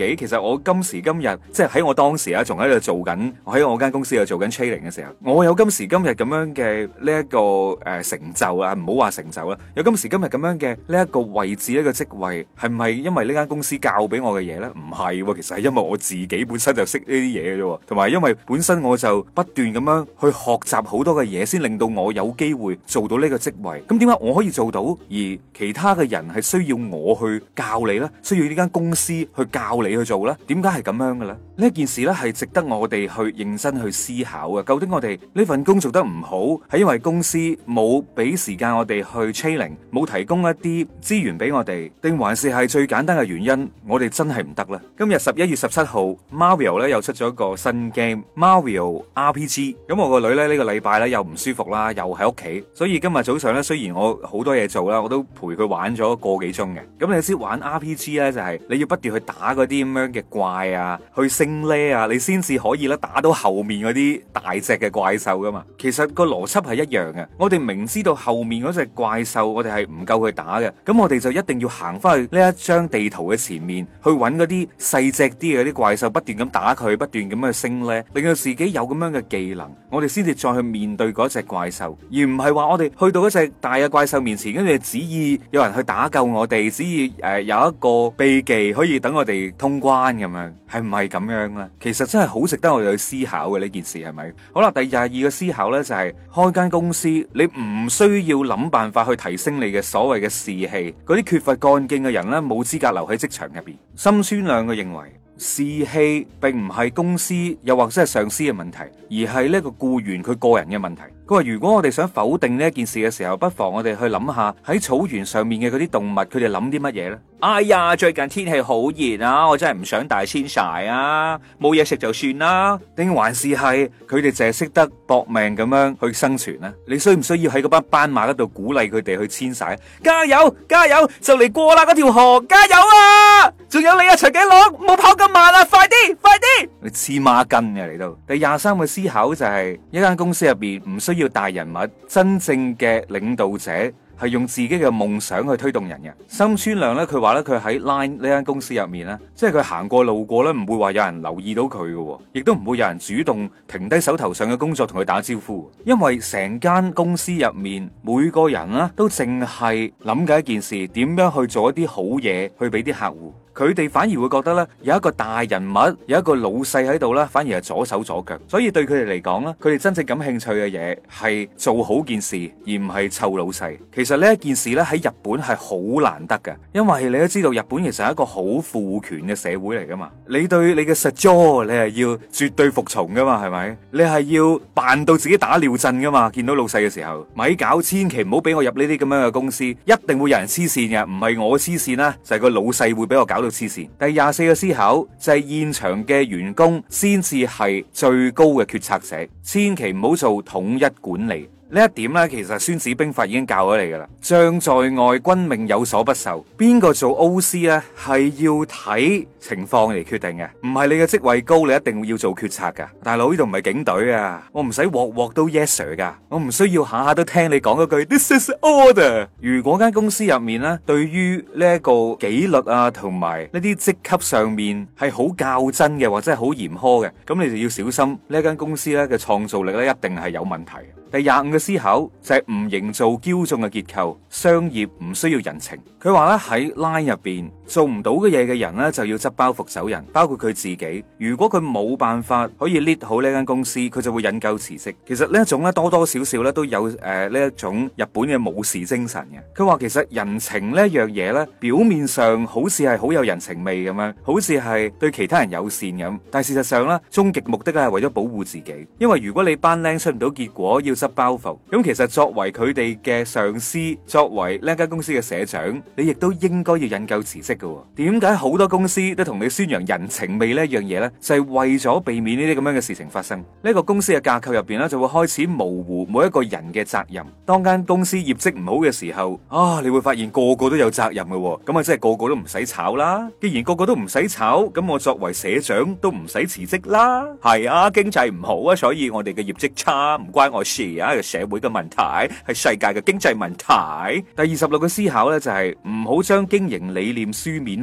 Speaker 1: 己，其實我今時今日即係喺我當時啊，仲喺度做緊，我喺我間公司度做緊 training 嘅時候，我有今時今日咁樣嘅呢一個誒、呃、成就啊，唔好話成就啦，有今時今日咁樣嘅呢一個位置，呢個職位，係唔係因為呢間公司教俾我嘅嘢呢？唔係，其實係因為我自己本身就識呢啲嘢嘅啫，同埋因為本身我就不斷咁樣去學習好多嘅嘢，先令到我有機會做到呢個職位。咁點解我可以做到，而其他嘅人係需要我去教你呢？需要呢間公司去教你去做呢？點解係咁樣嘅咧？呢件事呢係值得我哋去認真去思考嘅。究竟我哋呢份工做得唔好，係因為公司冇俾時間我哋去 training，冇提供一啲資源俾我哋，定還是係最簡單嘅原因，我哋真係唔得咧？今日十一月十七號 Mario 咧又出咗一個新 game Mario R P G。咁我個女咧呢個禮拜咧又唔舒服啦，又喺屋企，所以今日早上咧雖然我好多嘢做啦，我都陪佢玩咗個幾鐘嘅。咁你知玩 R P G 咧就係你要不斷去打嗰啲咁樣嘅怪啊，去升 level 啊，你先至可以咧打到後面嗰啲大隻嘅怪獸噶嘛。其實個邏輯係一樣嘅，我哋明知道後面嗰隻怪獸我哋係唔夠佢打嘅，咁我哋就一定要行翻去呢一張地圖嘅前面去揾嗰啲細隻啲嘅啲怪獸，不斷咁打佢，不斷咁去升 level，令到自己有咁樣嘅技能，我哋先至再去面對嗰隻怪獸，而唔係話我哋去到一隻大嘅怪獸面前，跟住旨意有人去打救我哋，旨意誒、呃、有一個秘技可以等我哋通關咁樣，係唔係咁樣咧？其實真係好值得我哋去思考嘅呢件事，係咪？好啦，第廿二個思考呢，就係、是、開間公司，你唔需要諗辦法去提升你嘅所謂嘅士氣，嗰啲缺乏幹勁嘅人呢，冇資格留喺職場入邊。森村亮嘅認為，士氣並唔係公司又或者係上司嘅問題，而係呢個僱員佢個人嘅問題。佢話如果我哋想否定呢一件事嘅時候，不妨我哋去諗下喺草原上面嘅嗰啲動物，佢哋諗啲乜嘢呢？哎呀，最近天氣好熱啊，我真係唔想大遷徙啊，冇嘢食就算啦。定還是係佢哋淨係識得搏命咁樣去生存呢？你需唔需要喺嗰班斑馬嗰度鼓勵佢哋去遷徙？加油加油，就嚟過啦嗰條河，加油啊！仲有你啊，長頸鹿，唔好跑咁慢啊，快啲快啲！你黐孖筋嘅嚟到。第廿三個思考就係、是、一間公司入邊唔需要大人物，真正嘅領導者係用自己嘅夢想去推動人嘅。森村亮咧，佢話咧佢喺 Line 呢間公司入面咧，即係佢行過路過咧，唔會話有人留意到佢嘅，亦都唔會有人主動停低手頭上嘅工作同佢打招呼。因為成間公司入面每個人咧都淨係諗緊一件事，點樣去做一啲好嘢去俾啲客戶。佢哋反而會覺得咧，有一個大人物，有一個老細喺度咧，反而係左手左腳。所以對佢哋嚟講咧，佢哋真正感興趣嘅嘢係做好件事，而唔係湊老細。其實呢一件事咧喺日本係好難得嘅，因為你都知道日本其實係一個好父權嘅社會嚟噶嘛。你對你嘅實 job 你係要絕對服從噶嘛，係咪？你係要扮到自己打尿震噶嘛？見到老細嘅時候，咪搞，千祈唔好俾我入呢啲咁樣嘅公司，一定會有人黐線嘅，唔係我黐線啦，就係個老細會俾我搞到黐線。第廿四個思考就係現場嘅員工先至係最高嘅決策者，千祈唔好做統一管理。呢一點咧，其實孫子兵法已經教咗你噶啦。將在外，君命有所不受。邊個做 O C 咧，係要睇情況嚟決定嘅，唔係你嘅職位高，你一定要做決策噶。大佬，呢度唔係警隊啊，我唔使鑊鑊都 yes sir 噶，我唔需要下下都聽你講嗰句 This is order。如果間公司入面咧，對於呢一個紀律啊，同埋呢啲職級上面係好較真嘅，或者係好嚴苛嘅，咁你就要小心呢一間公司咧嘅創造力咧，一定係有問題。第廿五個思考就係唔營造驕縱嘅結構，商業唔需要人情。佢話咧喺 Line 入邊做唔到嘅嘢嘅人咧就要執包袱走人，包括佢自己。如果佢冇辦法可以 lead 好呢間公司，佢就會引咎辭職。其實呢一種咧多多少少咧都有誒呢一種日本嘅武士精神嘅。佢話其實人情呢一樣嘢咧，表面上好似係好有人情味咁樣，好似係對其他人友善咁，但係事實上咧終極目的咧係為咗保護自己。因為如果你班僆出唔到結果，要執包袱，咁其實作為佢哋嘅上司，作為呢間公司嘅社長，你亦都應該要引咎辭職嘅。點解好多公司都同你宣揚人情味呢一樣嘢呢？就係為咗避免呢啲咁樣嘅事情發生。呢個公司嘅架構入邊呢，就會開始模糊每一個人嘅責任。當間公司業績唔好嘅時候，啊，你會發現個個都有責任嘅，咁啊，即係個個都唔使炒啦。既然個個都唔使炒，咁我作為社長都唔使辭職啦。係啊，經濟唔好啊，所以我哋嘅業績差，唔關我事啊。社會嘅問題係世界嘅經濟問題。第二十六個思考呢，就係唔好將經營理念書面化，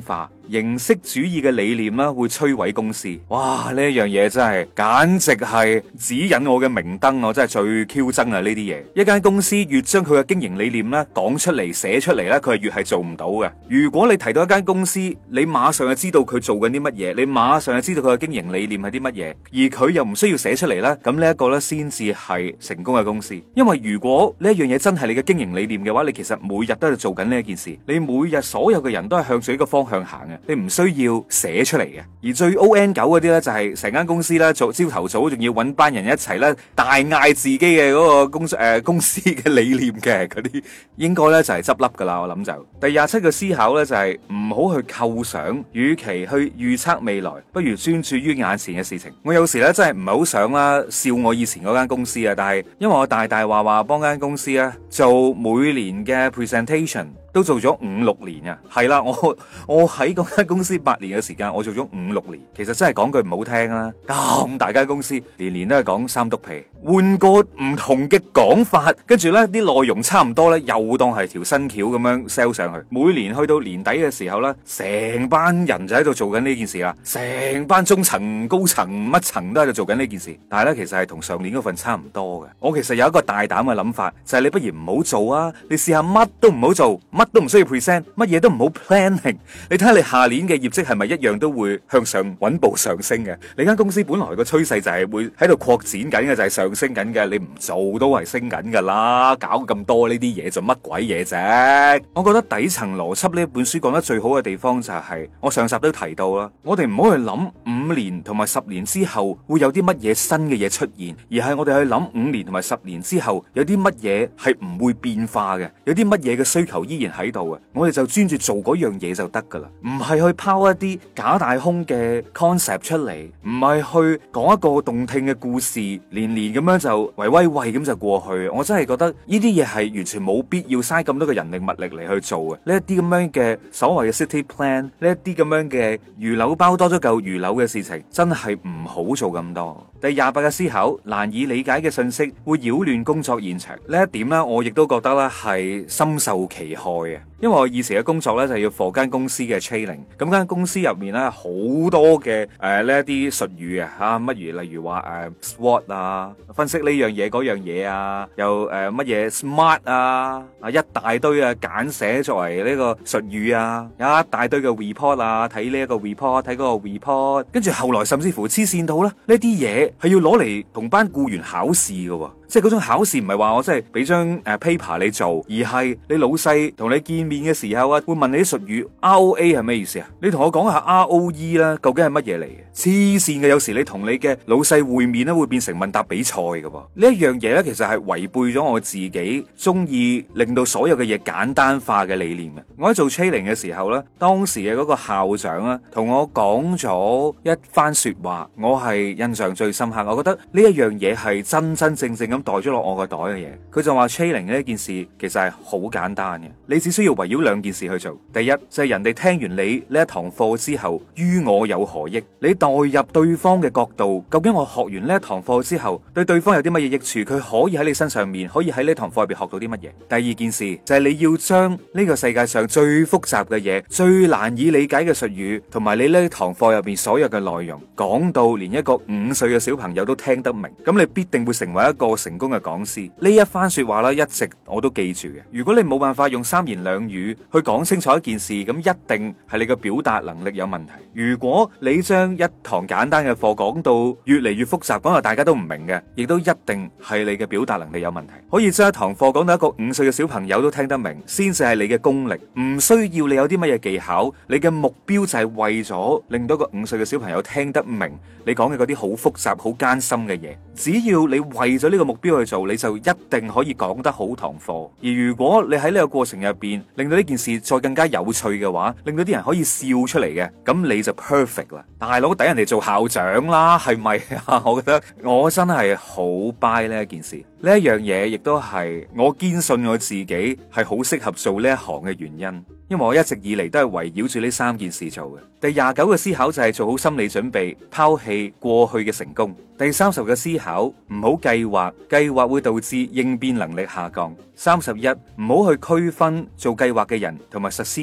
Speaker 1: 形式主義嘅理念啦，會摧毀公司。哇！呢一樣嘢真係簡直係指引我嘅明燈，我真係最 Q 憎啊！呢啲嘢，一間公司越將佢嘅經營理念咧講出嚟、寫出嚟咧，佢係越係做唔到嘅。如果你提到一間公司，你馬上就知道佢做緊啲乜嘢，你馬上就知道佢嘅經營理念係啲乜嘢，而佢又唔需要寫出嚟咧，咁呢一個咧先至係成功嘅公司。因為如果呢一樣嘢真係你嘅經營理念嘅話，你其實每日都喺度做緊呢一件事，你每日所有嘅人都係向住呢個方向行嘅，你唔需要寫出嚟嘅。而最 O N 九嗰啲咧，就係成間公司咧做朝頭早仲要揾班人一齊咧大嗌自己嘅嗰個公誒、呃、公司嘅理念嘅嗰啲，應該咧就係執笠噶啦。我諗就第廿七個思考咧就係唔好去構想，與其去預測未來，不如專注於眼前嘅事情。我有時咧真係唔係好想啦笑我以前嗰間公司啊，但係因為我大大話話幫間公司啊做每年嘅 presentation。都做咗五六年啊，係啦，我我喺嗰間公司八年嘅時間，我做咗五六年，其實真係講句唔好聽啦，咁大間公司年年都係講三篤皮，換個唔同嘅講法，跟住呢啲內容差唔多呢，又當係條新橋咁樣 sell 上去。每年去到年底嘅時候呢，成班人就喺度做緊呢件事啦，成班中層、高層乜層都喺度做緊呢件事，但係呢，其實係同上年嗰份差唔多嘅。我其實有一個大膽嘅諗法，就係你不如唔好做啊，你試下乜都唔好做。乜都唔需要 present， 乜嘢都唔好 planning。你睇下你下年嘅業績係咪一樣都會向上穩步上升嘅？你間公司本來個趨勢就係會喺度擴展緊嘅，就係上升緊嘅。你唔做都係升緊噶啦，搞咁多呢啲嘢做乜鬼嘢啫？我覺得底層邏輯呢本書講得最好嘅地方就係，我上集都提到啦，我哋唔好去諗五年同埋十年之後會有啲乜嘢新嘅嘢出現，而係我哋去諗五年同埋十年之後有啲乜嘢係唔會變化嘅，有啲乜嘢嘅需求依然喺度啊！我哋就專注做嗰樣嘢就得噶啦，唔係去拋一啲假大空嘅 concept 出嚟，唔係去講一個動聽嘅故事，年年咁樣就喂喂喂咁就過去。我真係覺得呢啲嘢係完全冇必要嘥咁多嘅人力物力嚟去做嘅。呢一啲咁樣嘅所謂嘅 city plan， 呢一啲咁樣嘅魚柳包多咗嚿魚柳嘅事情，真係唔好做咁多。第廿八嘅思考，難以理解嘅信息會擾亂工作現場。呢一點呢，我亦都覺得咧係深受其害嘅。因為我以前嘅工作咧就係要 for 間公司嘅 training，咁間公司入面咧好多嘅誒呢一啲術語啊吓，乜如例如話誒、呃、SWOT 啊，分析呢樣嘢嗰樣嘢啊，又誒乜嘢 SMART 啊，啊一大堆啊簡寫作為呢個術語啊，有一大堆嘅 report 啊，睇呢一個 report， 睇嗰個 report， 跟住後來甚至乎黐線到咧呢啲嘢係要攞嚟同班僱員考試嘅。即係嗰種考試唔係話我真係俾張誒 paper 你做，而係你老細同你見面嘅時候啊，會問你啲術語 R O A 係咩意思啊？你同我講下 R O E 啦，究竟係乜嘢嚟嘅？黐線嘅，有時你同你嘅老細會面咧，會變成問答比賽嘅噃。呢一樣嘢咧，其實係違背咗我自己中意令到所有嘅嘢簡單化嘅理念嘅。我喺做 training 嘅時候咧，當時嘅嗰個校長啊，同我講咗一番說話，我係印象最深刻。我覺得呢一樣嘢係真真正正咁袋咗落我個袋嘅嘢。佢就話 training 呢件事其實係好簡單嘅，你只需要圍繞兩件事去做。第一就係人哋聽完你呢一堂課之後，於我有何益？你代入對方嘅角度，究竟我學完呢一堂課之後，對對方有啲乜嘢益處？佢可以喺你身上面，可以喺呢堂課入邊學到啲乜嘢？第二件事就係你要將呢個世界上最複雜嘅嘢、最難以理解嘅術語，同埋你呢堂課入邊所有嘅內容，講到連一個五歲嘅小朋友都聽得明，咁你必定會成為一個成功嘅講師。呢一番說話咧，一直我都記住嘅。如果你冇辦法用三言兩語去講清楚一件事，咁一定係你嘅表達能力有問題。如果你將一堂簡單嘅課講到越嚟越複雜，講到大家都唔明嘅，亦都一定係你嘅表達能力有問題。可以將一堂課講到一個五歲嘅小朋友都聽得明，先至係你嘅功力。唔需要你有啲乜嘢技巧，你嘅目標就係為咗令到一個五歲嘅小朋友聽得明你講嘅嗰啲好複雜、好艱深嘅嘢。只要你為咗呢個目標去做，你就一定可以講得好堂課。而如果你喺呢個過程入邊令到呢件事再更加有趣嘅話，令到啲人可以笑出嚟嘅，咁你就 perfect 啦。大佬抵人哋做校長啦，係咪啊？我覺得我真係好 buy 呢一件事，呢一樣嘢亦都係我堅信我自己係好適合做呢一行嘅原因。因為我一直以嚟都係圍繞住呢三件事做嘅。第廿九個思考就係做好心理準備，拋棄過去嘅成功。第三十個思考，唔好計劃，計劃會導致應變能力下降。三十一，唔好去區分做計劃嘅人同埋實施嘅人。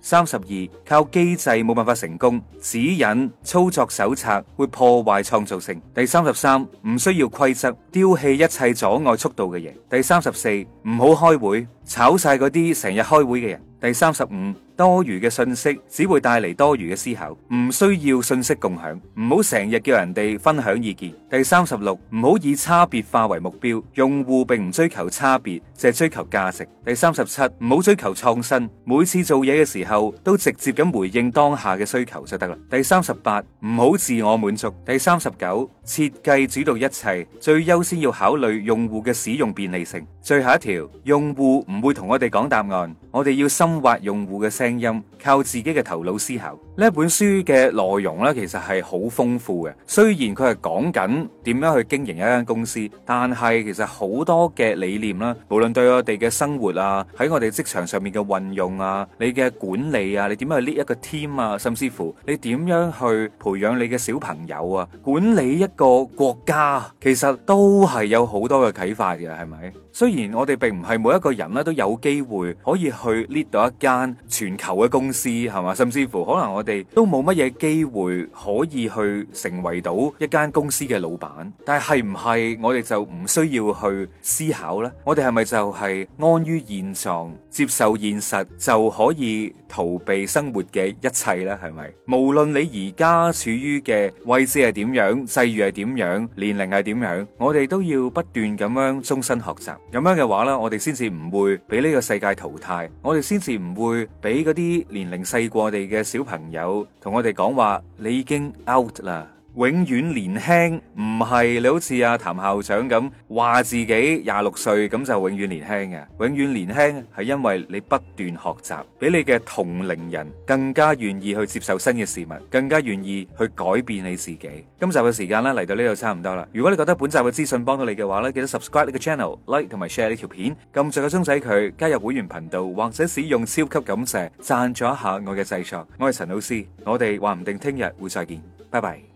Speaker 1: 三十二，靠機制冇辦法成功，指引、操作手冊會破壞創造性。第三十三，唔需要規則，丟棄一切阻礙速度嘅嘢。第三十四，唔好開會，炒晒嗰啲成日開會嘅人。第三十五，多餘嘅信息只會帶嚟多餘嘅思考，唔需要信息共享，唔好成日叫人哋分享意見。第三十六，唔好以差別化為目標，用戶並唔追求差別，淨係追求價值。第三十七，唔好追求創新，每次做嘢嘅時候都直接咁回應當下嘅需求就得啦。第三十八，唔好自我滿足。第三十九，設計主導一切，最優先要考慮用戶嘅使用便利性。最後一條，用戶唔會同我哋講答案，我哋要深挖用戶嘅聲音，靠自己嘅頭腦思考。呢本書嘅內容咧，其實係好豐富嘅。雖然佢係講緊點樣去經營一間公司，但係其實好多嘅理念啦，無論對我哋嘅生活啊，喺我哋職場上面嘅運用啊，你嘅管理啊，你點樣去 lead 一個 team 啊，甚至乎你點樣去培養你嘅小朋友啊，管理一個國家，其實都係有好多嘅啟發嘅，係咪？雖然我哋並唔係每一個人咧都有機會可以去 lead 到一間全球嘅公司，係嘛？甚至乎可能我哋都冇乜嘢機會可以去成為到一間公司嘅老闆，但係係唔係我哋就唔需要去思考呢？我哋係咪就係安於現狀，接受現實就可以逃避生活嘅一切呢？係咪？無論你而家處於嘅位置係點樣，際遇係點樣，年齡係點樣，我哋都要不斷咁樣終身學習。咁樣嘅話呢，我哋先至唔會俾呢個世界淘汰，我哋先至唔會俾嗰啲年齡細過我哋嘅小朋友同我哋講話，你已經 out 啦。永遠年輕唔係你好似阿譚校長咁話自己廿六歲咁就永遠年輕嘅，永遠年輕係因為你不斷學習，比你嘅同齡人更加願意去接受新嘅事物，更加願意去改變你自己。今集嘅時間咧嚟到呢度差唔多啦。如果你覺得本集嘅資訊幫到你嘅話咧，記得 subscribe 呢個 channel、like 同埋 share 呢條片，撳住個鐘仔佢，加入會員頻道或者使用超級感謝贊助一下我嘅製作。我係陳老師，我哋話唔定聽日會再見，拜拜。